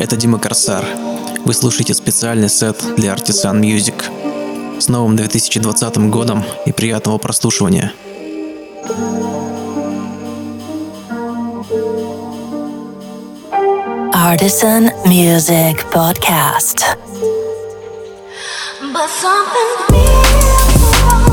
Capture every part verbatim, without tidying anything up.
Это Дима Корсар. Вы слушаете специальный сет для Artisan Music. С новым две тысячи двадцатым годом и приятного прослушивания. Artisan Music Podcast. But something feels wrong.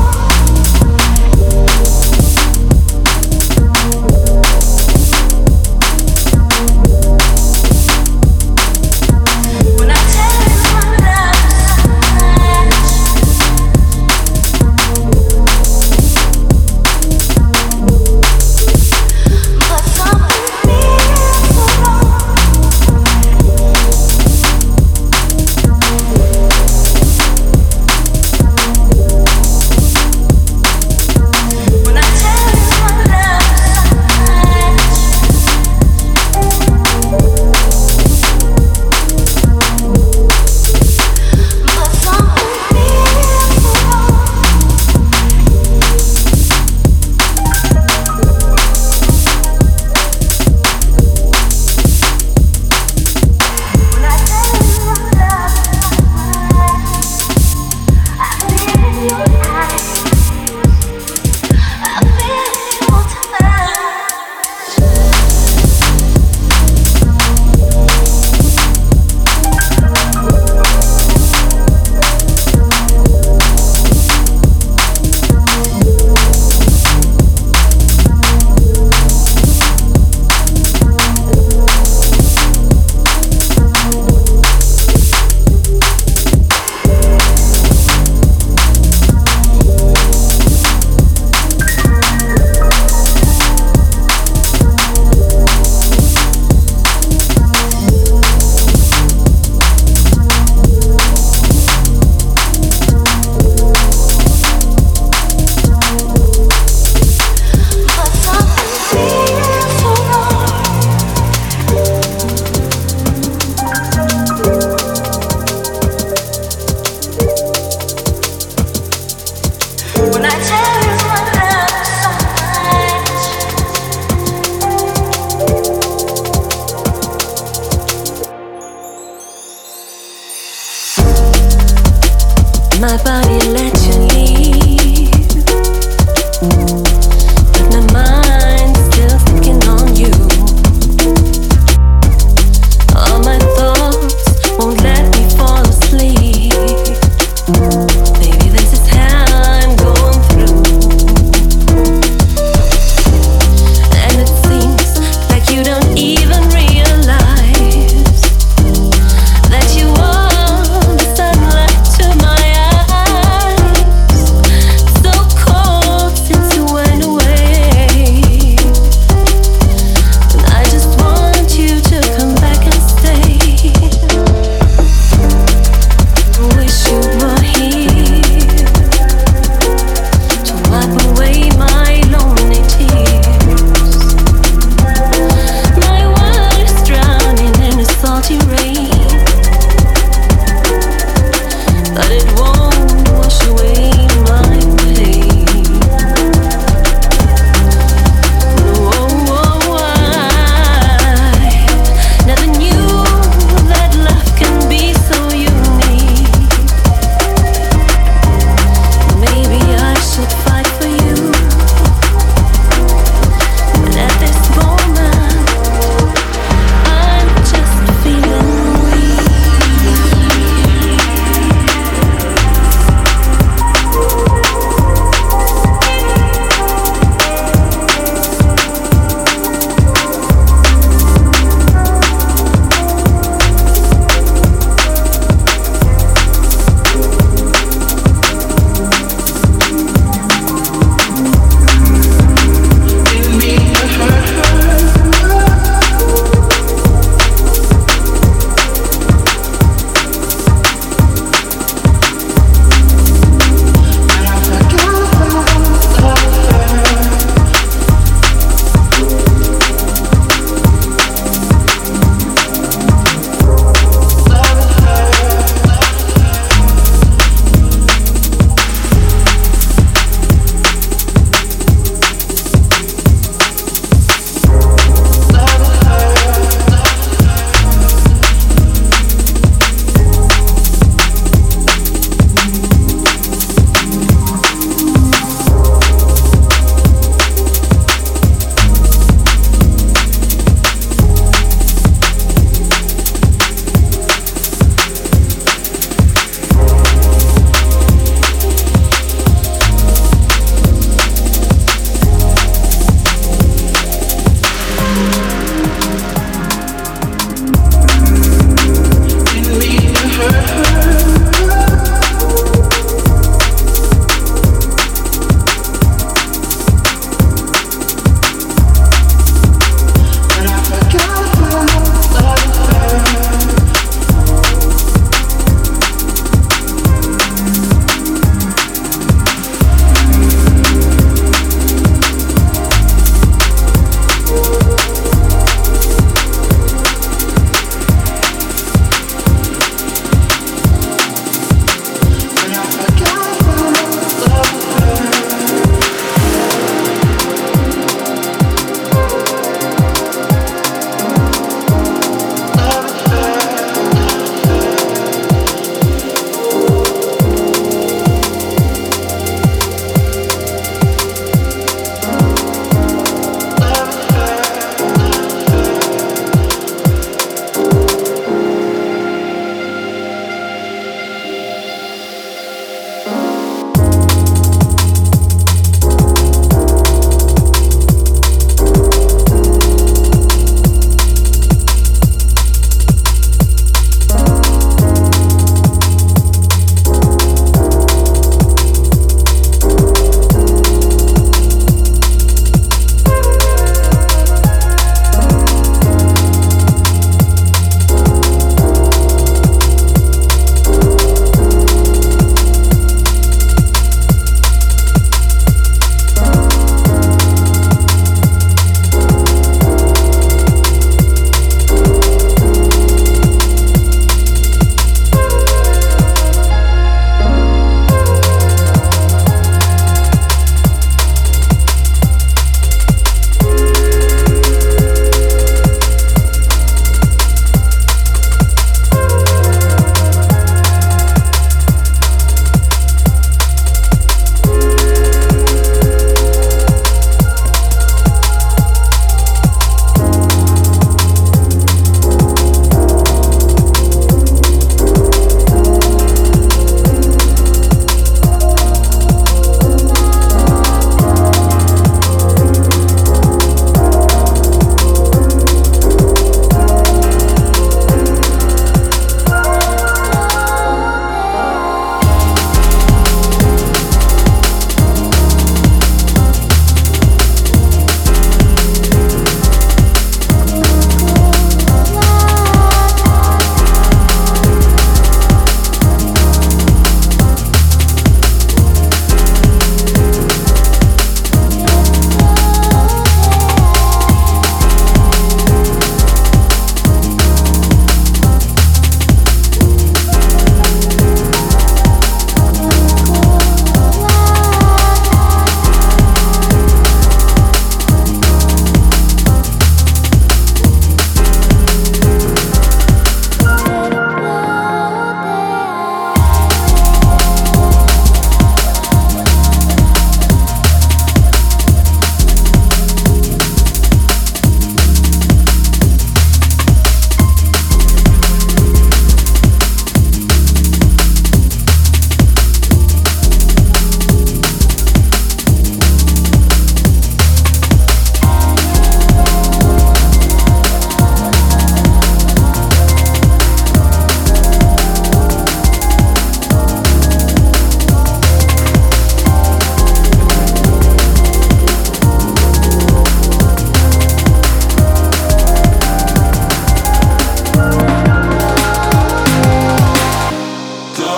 So cold since you went.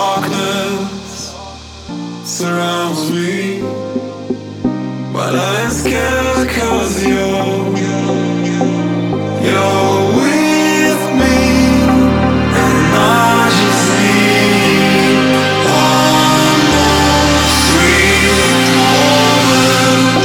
darkness surrounds me, but I ain't scared 'cause you're, you're with me, and I just need one more sweet moment.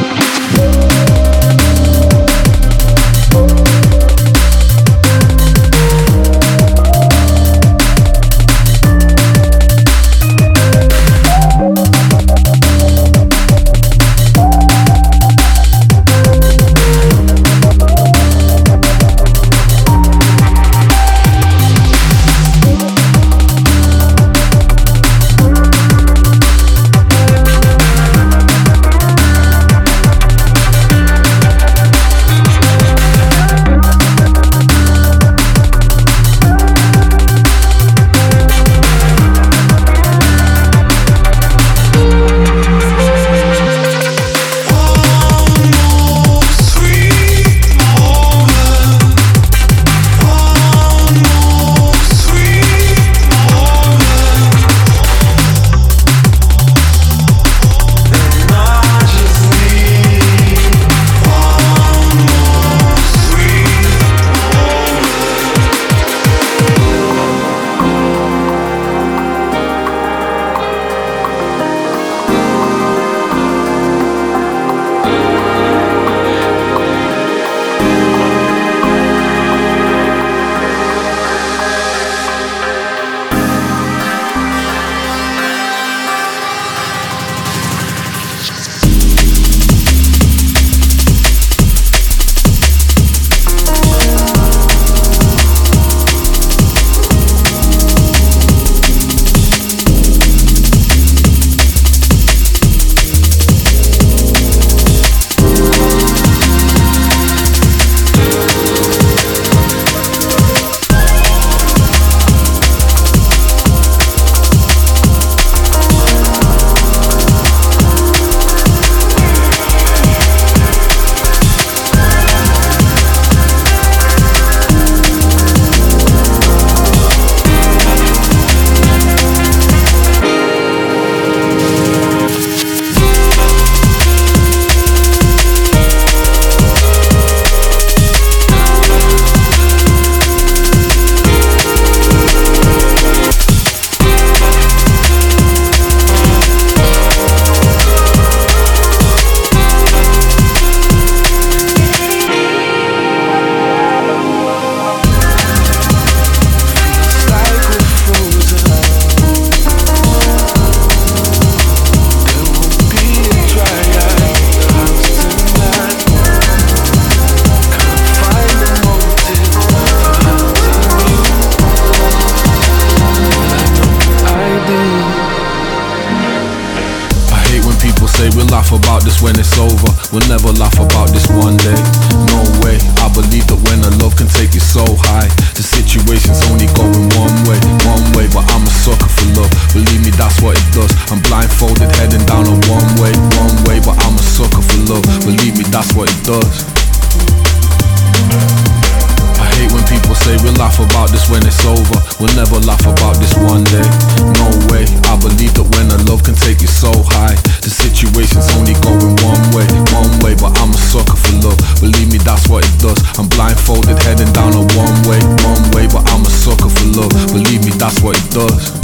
When it's over, we'll never laugh about this one day. No way, I believe that when a love can take you so high, the situation's only going one way, one way. But I'm a sucker for love, believe me, that's what it does. I'm blindfolded, heading down a one way, one way. But I'm a sucker for love, believe me, that's what it does. I hate when people say we'll laugh about this when it's over. We'll never laugh about this one day. No way, I believe that when a love can take you so high, the situation's only going one way, one way. But I'm a sucker for love, believe me, that's what it does. I'm blindfolded, heading down a one way, one way. But I'm a sucker for love, believe me, that's what it does.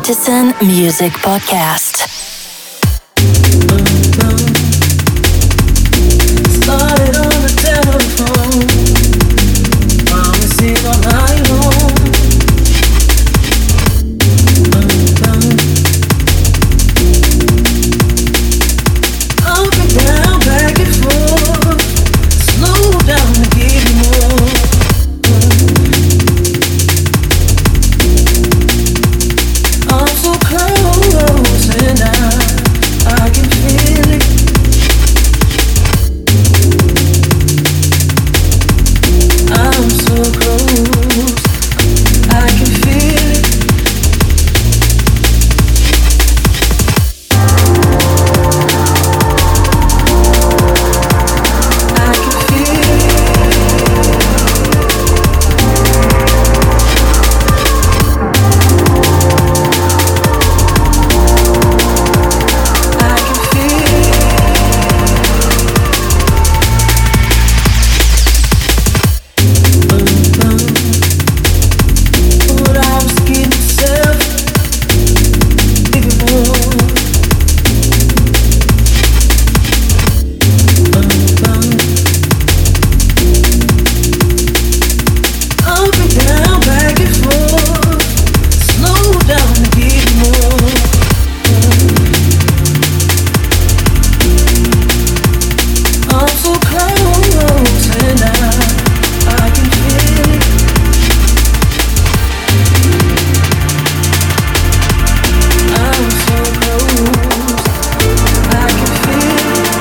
Artisan Music Podcast. Started on the telephone, promising all night long. Up and down, back and forth, slow down to give you more. I'm so close and I, I can feel it. I'm so close, I can feel it. I can feel I can feel But I was kidding myself even more. Up and down, back and forth, slow down to give you more. I'm so close and I, I can feel it. I'm so close, I can feel it.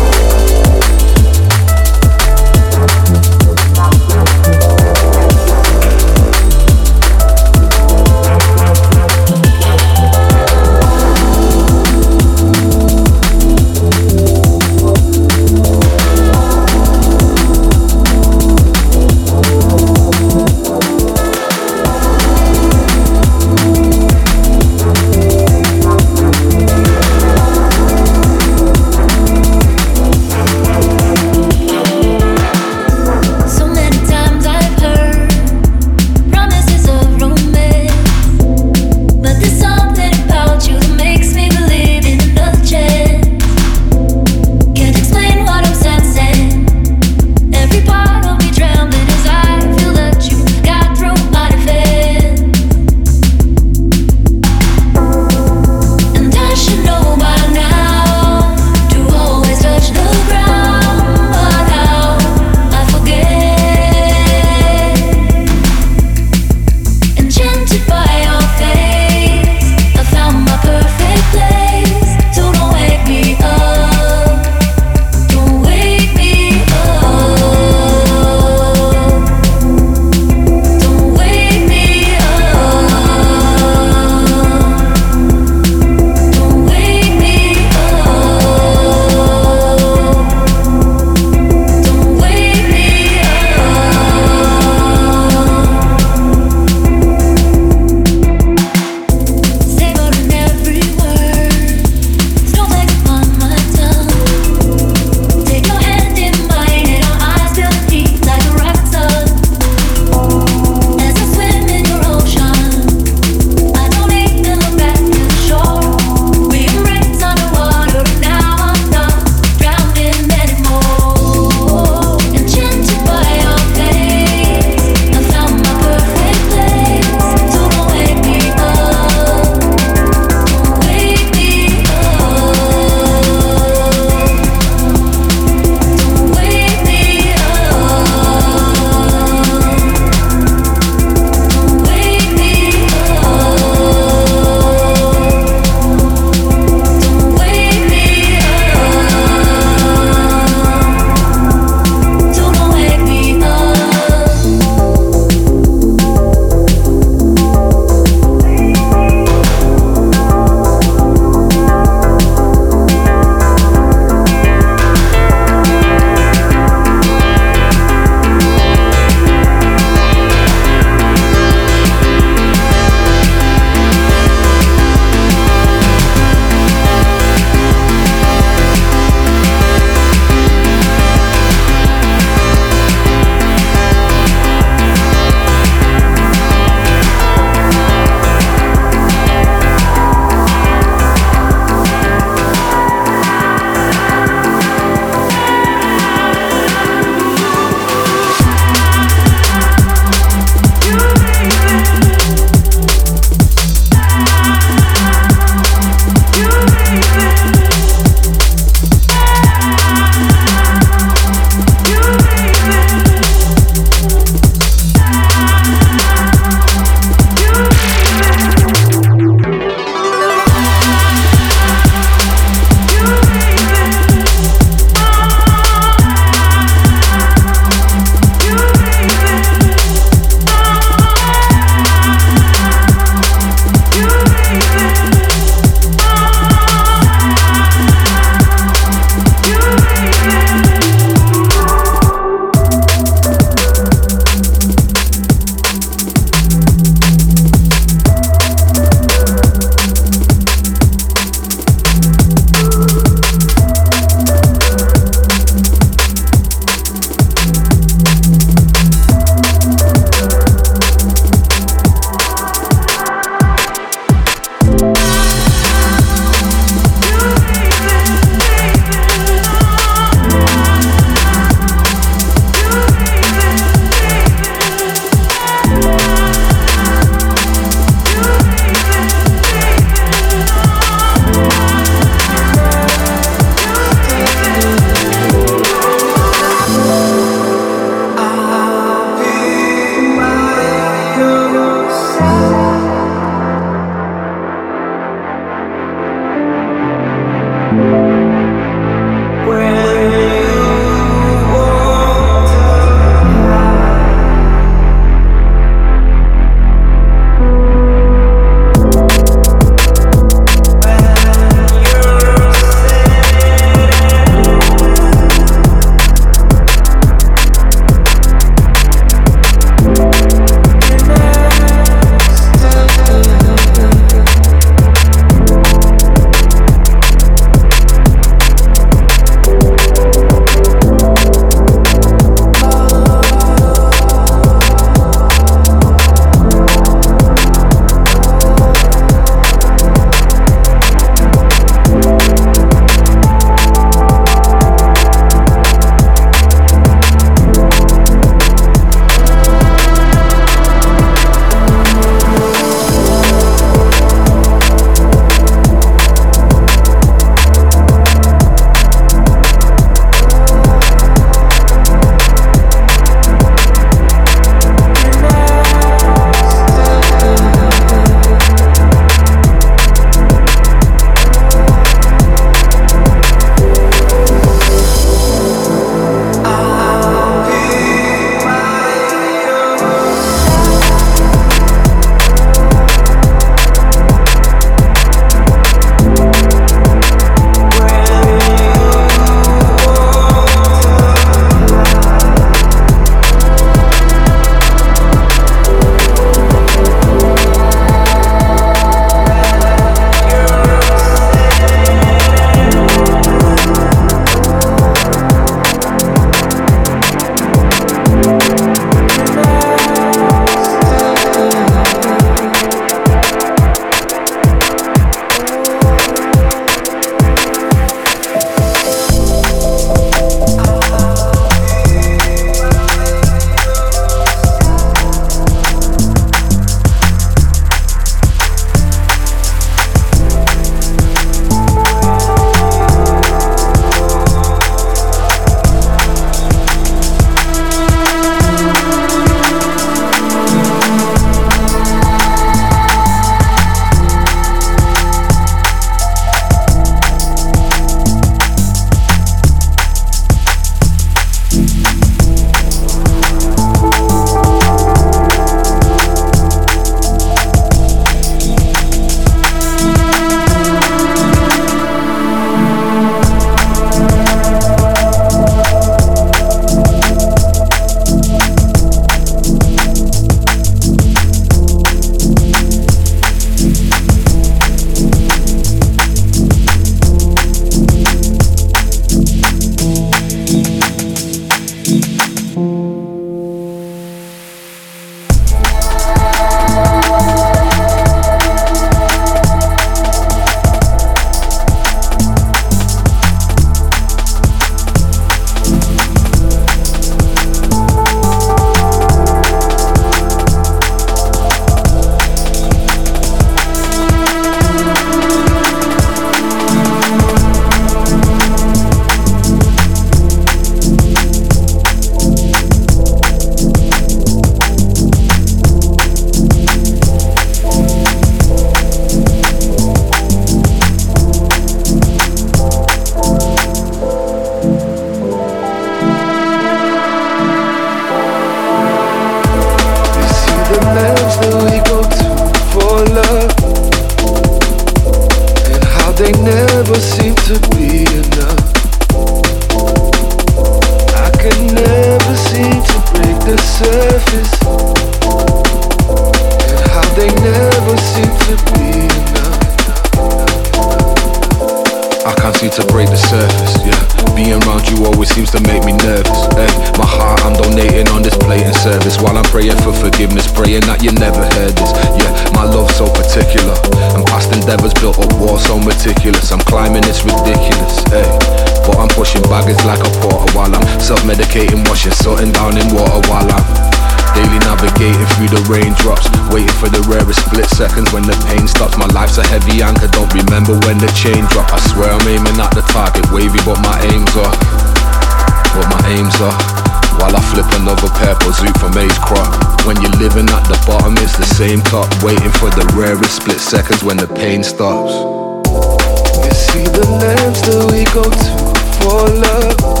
seems to make me nervous. Hey, my heart I'm donating on this plating service, while I'm praying for forgiveness, praying that you never heard this. Yeah, my love's so particular, and past endeavors built up walls so meticulous. I'm climbing, it's ridiculous. Hey, but I'm pushing baggage like a porter while I'm self-medicating, washing something down in water while I'm daily navigating through the raindrops, waiting for the rarest split seconds when the pain stops. My life's a heavy anchor, don't remember when the chain drop. I swear I'm aiming at the target, wavy, but my aims are, but my aims are, while I flip another purple zoot from Ace Crop. When you're living at the bottom, it's the same top, waiting for the rarest split seconds when the pain stops. You see the lengths that we go to for love,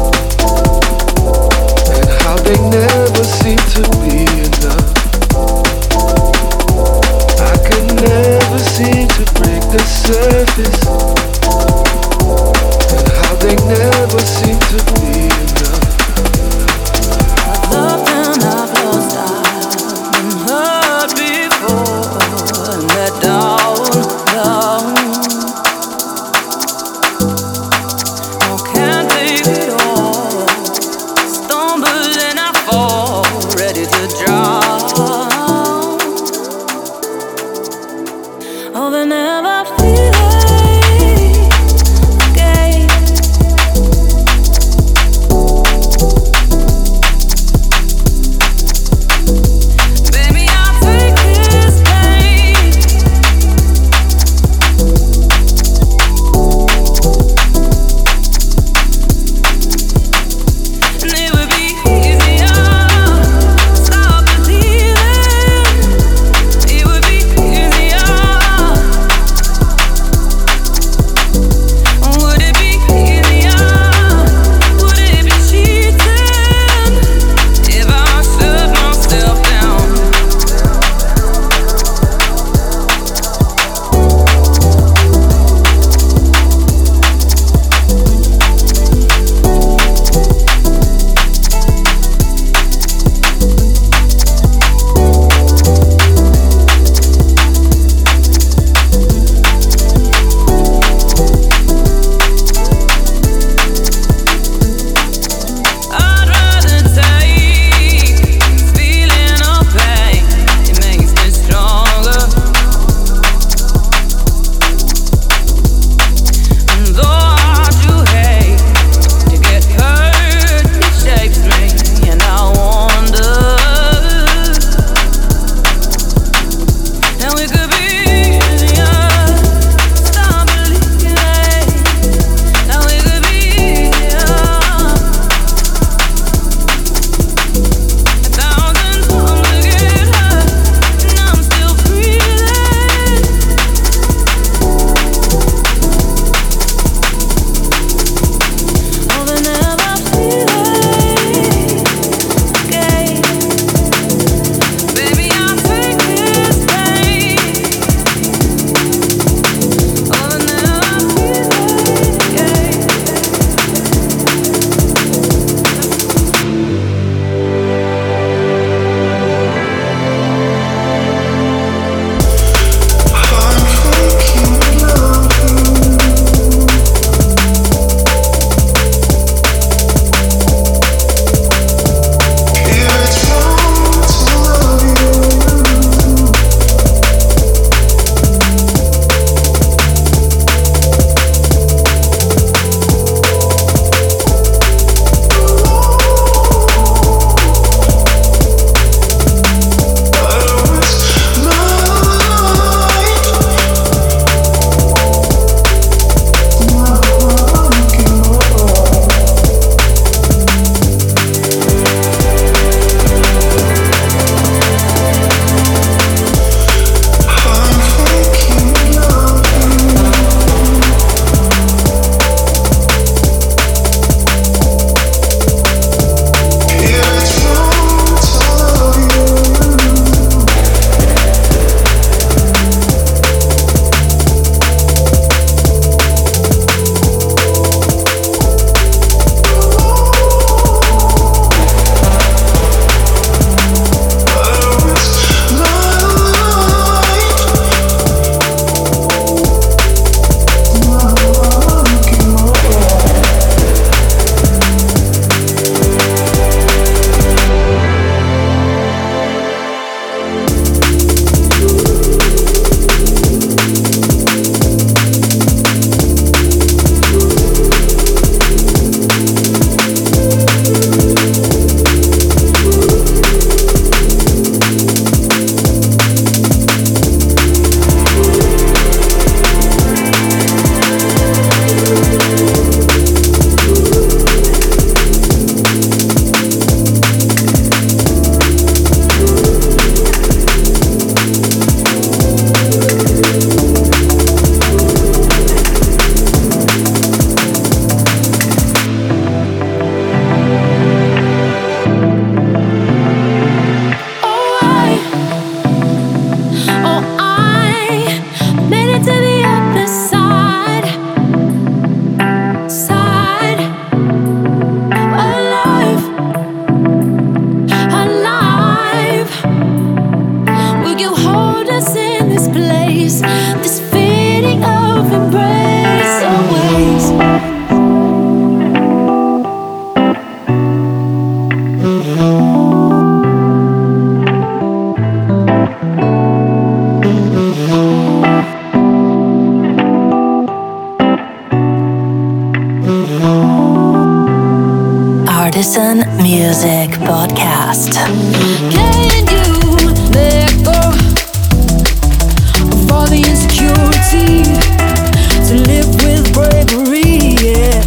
how they never seem to be enough. I could never seem to break the surface, and how they never seem to be enough. I've loved and I've lost, I've been hurt before, and let down, down. No, can't take it all. Stumble and I fall. Artisan Music Podcast. Can you let go of all the insecurity to live with bravery? Yeah.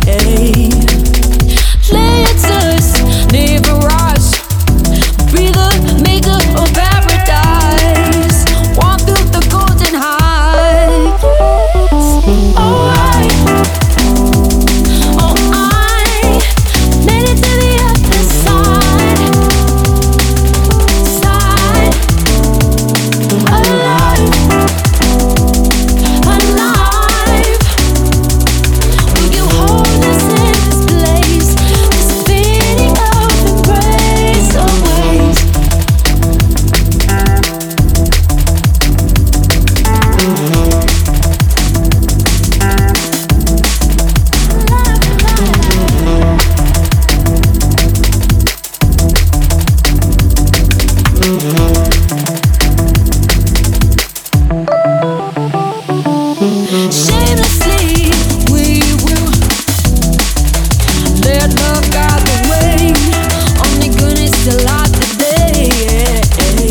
Let us never rush. Be the maker of paradise. Walk through the golden heights. Oh, I, oh, I made it to the other side. Side. Alive. Alive. Will you hold us in this place? This feeling of embrace always. Shamelessly, we will let love guide the way. Only goodness to light the day.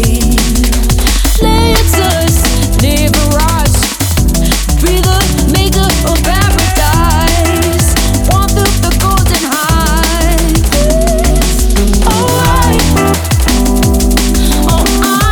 Let us never rush. Be the maker of paradise. Walk through the golden heights. Oh, I, oh, I.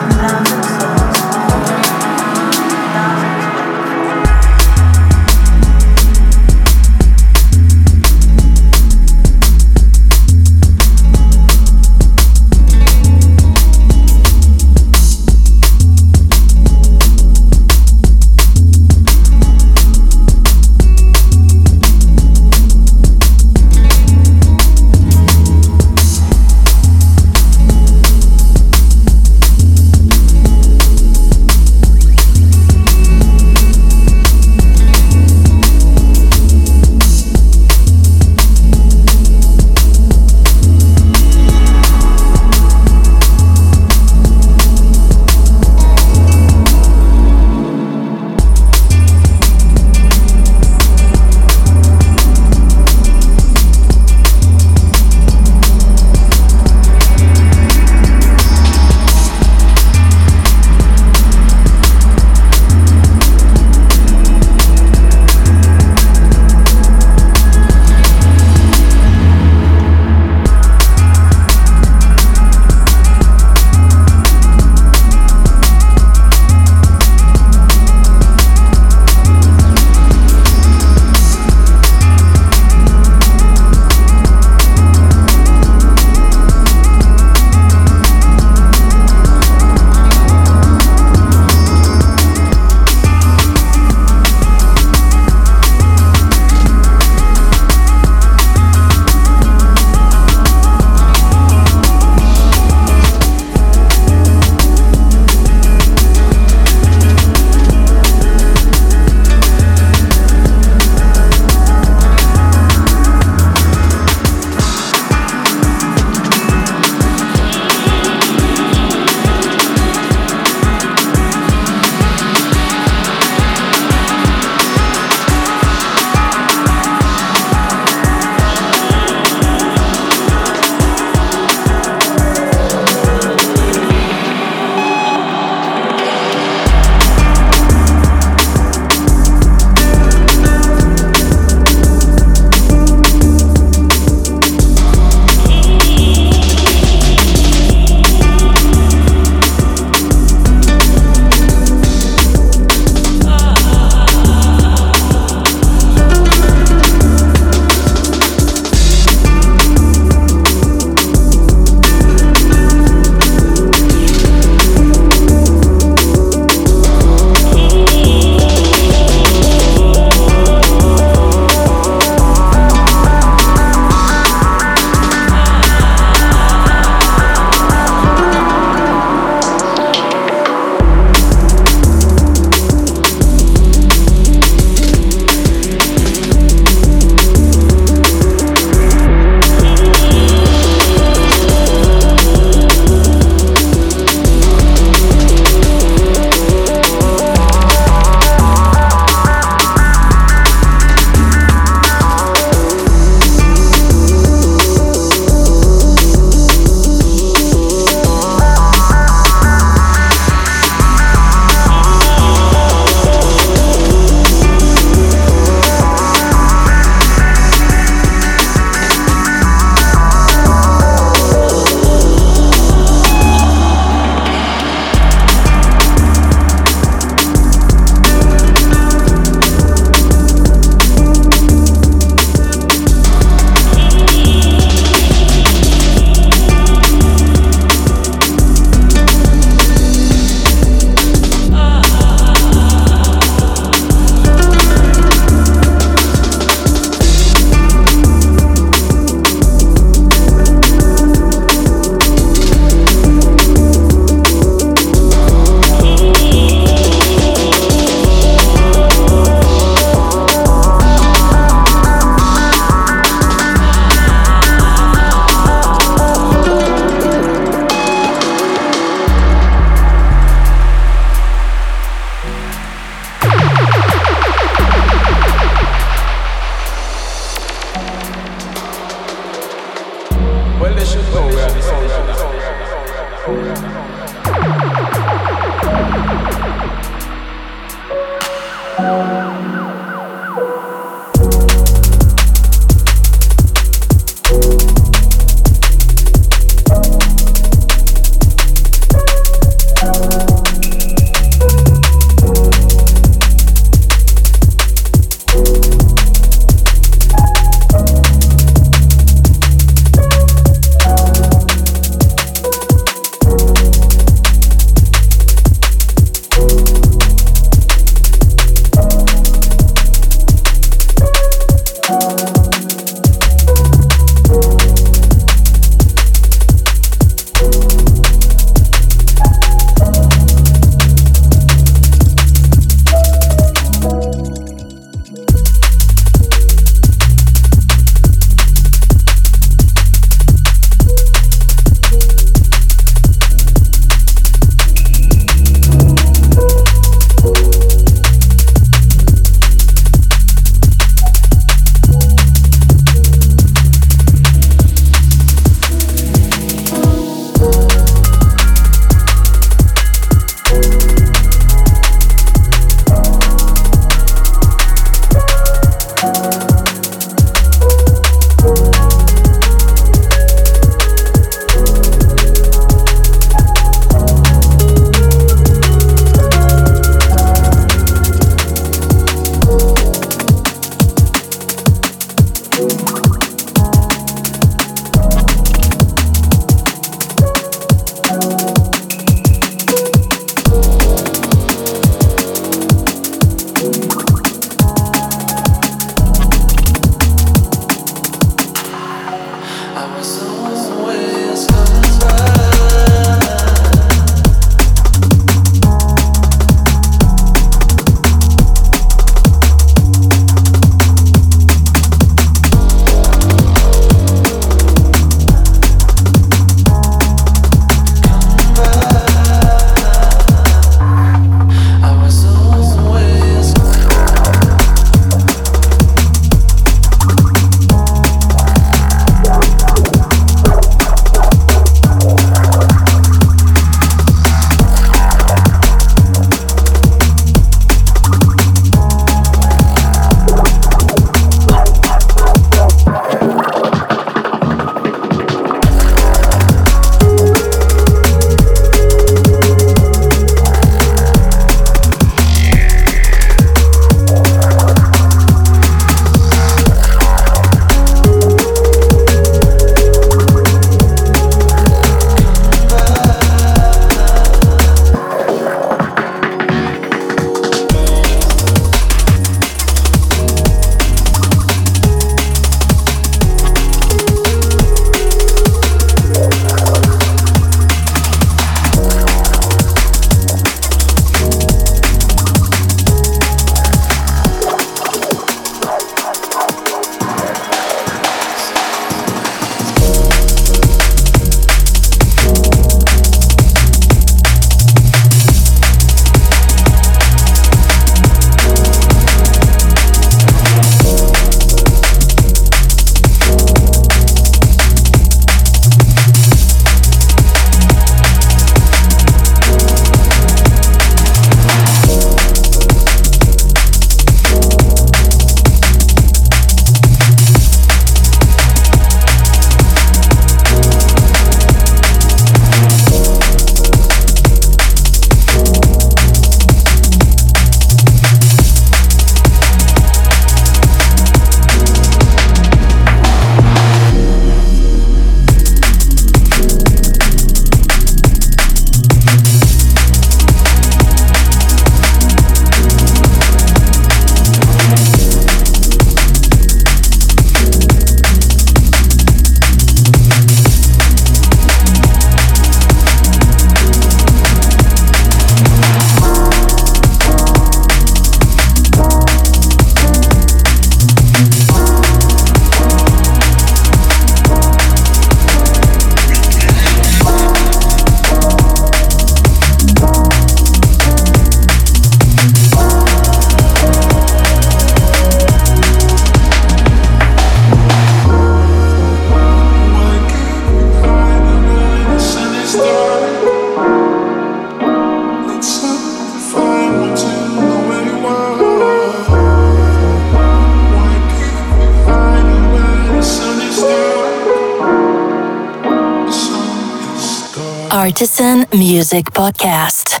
Artisan Music Podcast.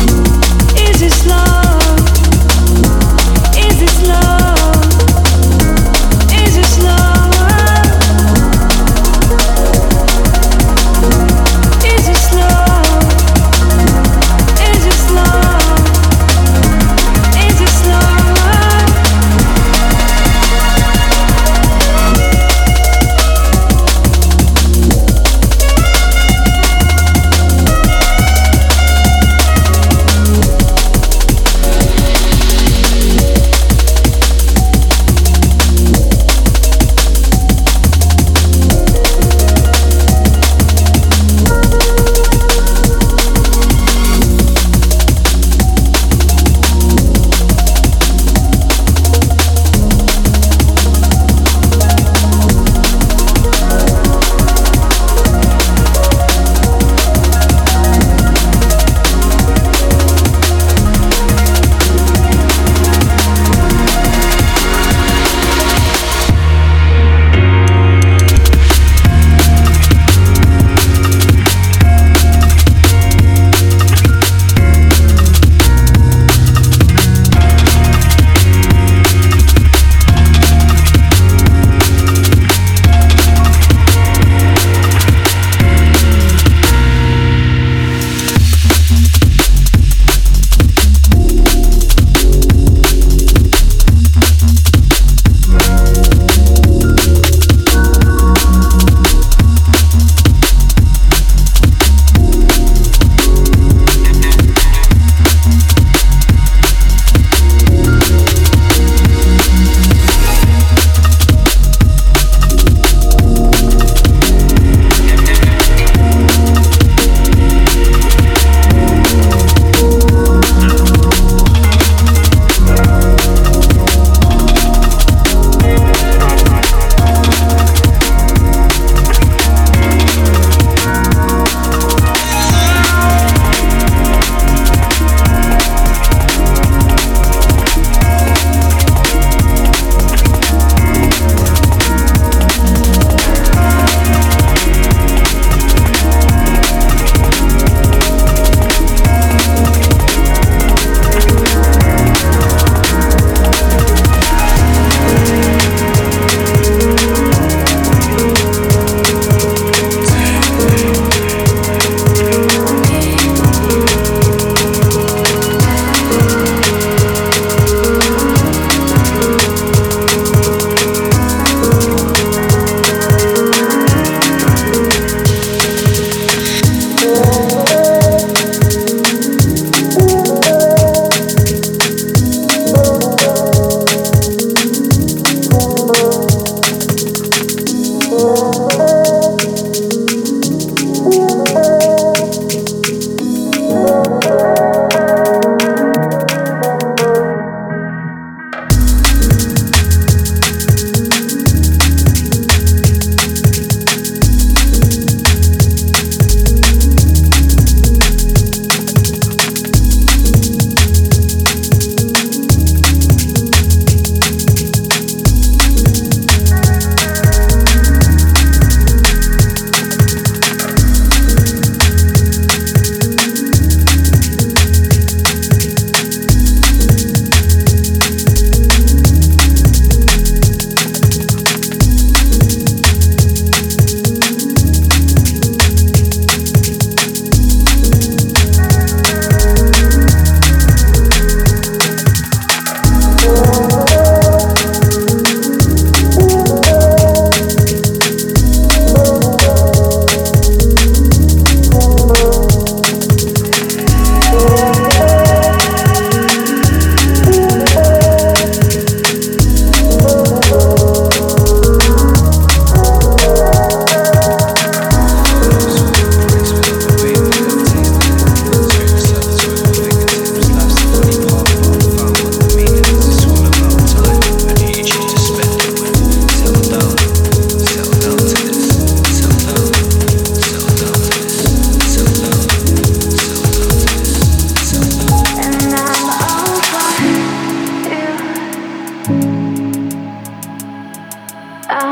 Is this love?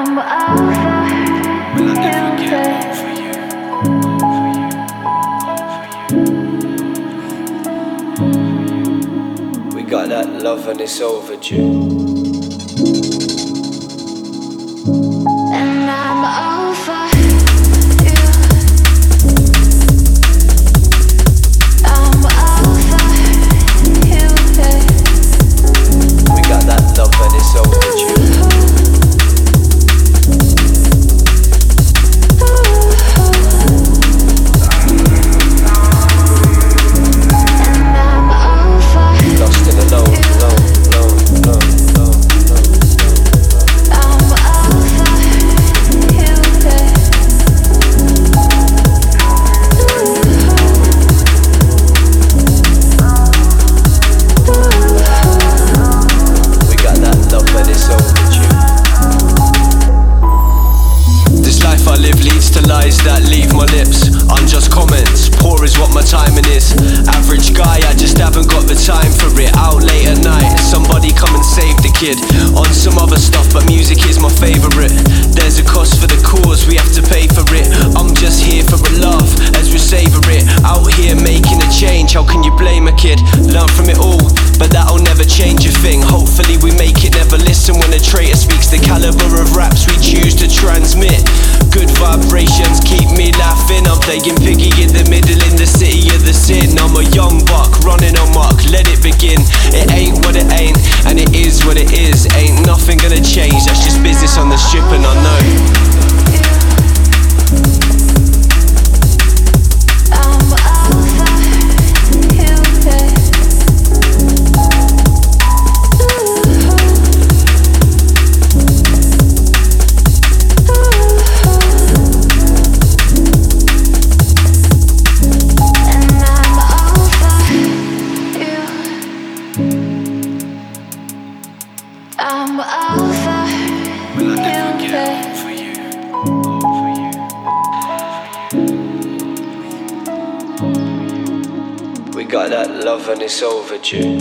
Got that love and it's overdue. And I'm over you. I'm over you, yeah. We got that love and it's overdue. Lost in the low, low, low, low, low, low, low. I'm over you, yeah. We got that love and it's overdue. This life I live leads to lies that leave my lips. Unjust comments, poor is what my timing is. Average guy, I just haven't got the time for it. Out late at night, somebody come and save the kid. On some other stuff, but music is my favourite. There's a cost for the cause, we have to pay for it. I'm just here for a laugh, as we savour it. Out here making a change, how can you blame a kid? Learn from it all, but that'll never change a thing. Hopefully we make it never listen when a traitor speaks. The caliber of raps we choose to transmit. Good vibrations keep me laughing. I'm playing piggy in the middle in the city of the sin. I'm a young buck running amok, let it begin. It ain't what it ain't, and it is what it is. Ain't nothing gonna change, that's just business on the strip, and I know. I'm over you, yeah. And I'm over you. I'm over you, yeah. We got that love and it's overdue.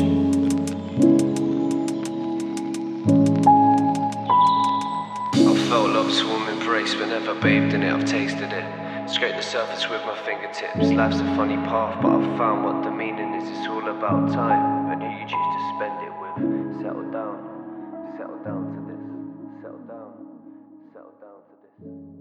I felt love's warm embrace, but never bathed in it, I've tasted it. Scrape the surface with my fingertips. Life's a funny path, but I've found what the meaning is. It's all about time and who you choose to spend it with. Settle down, settle down to this. Settle down, settle down to this.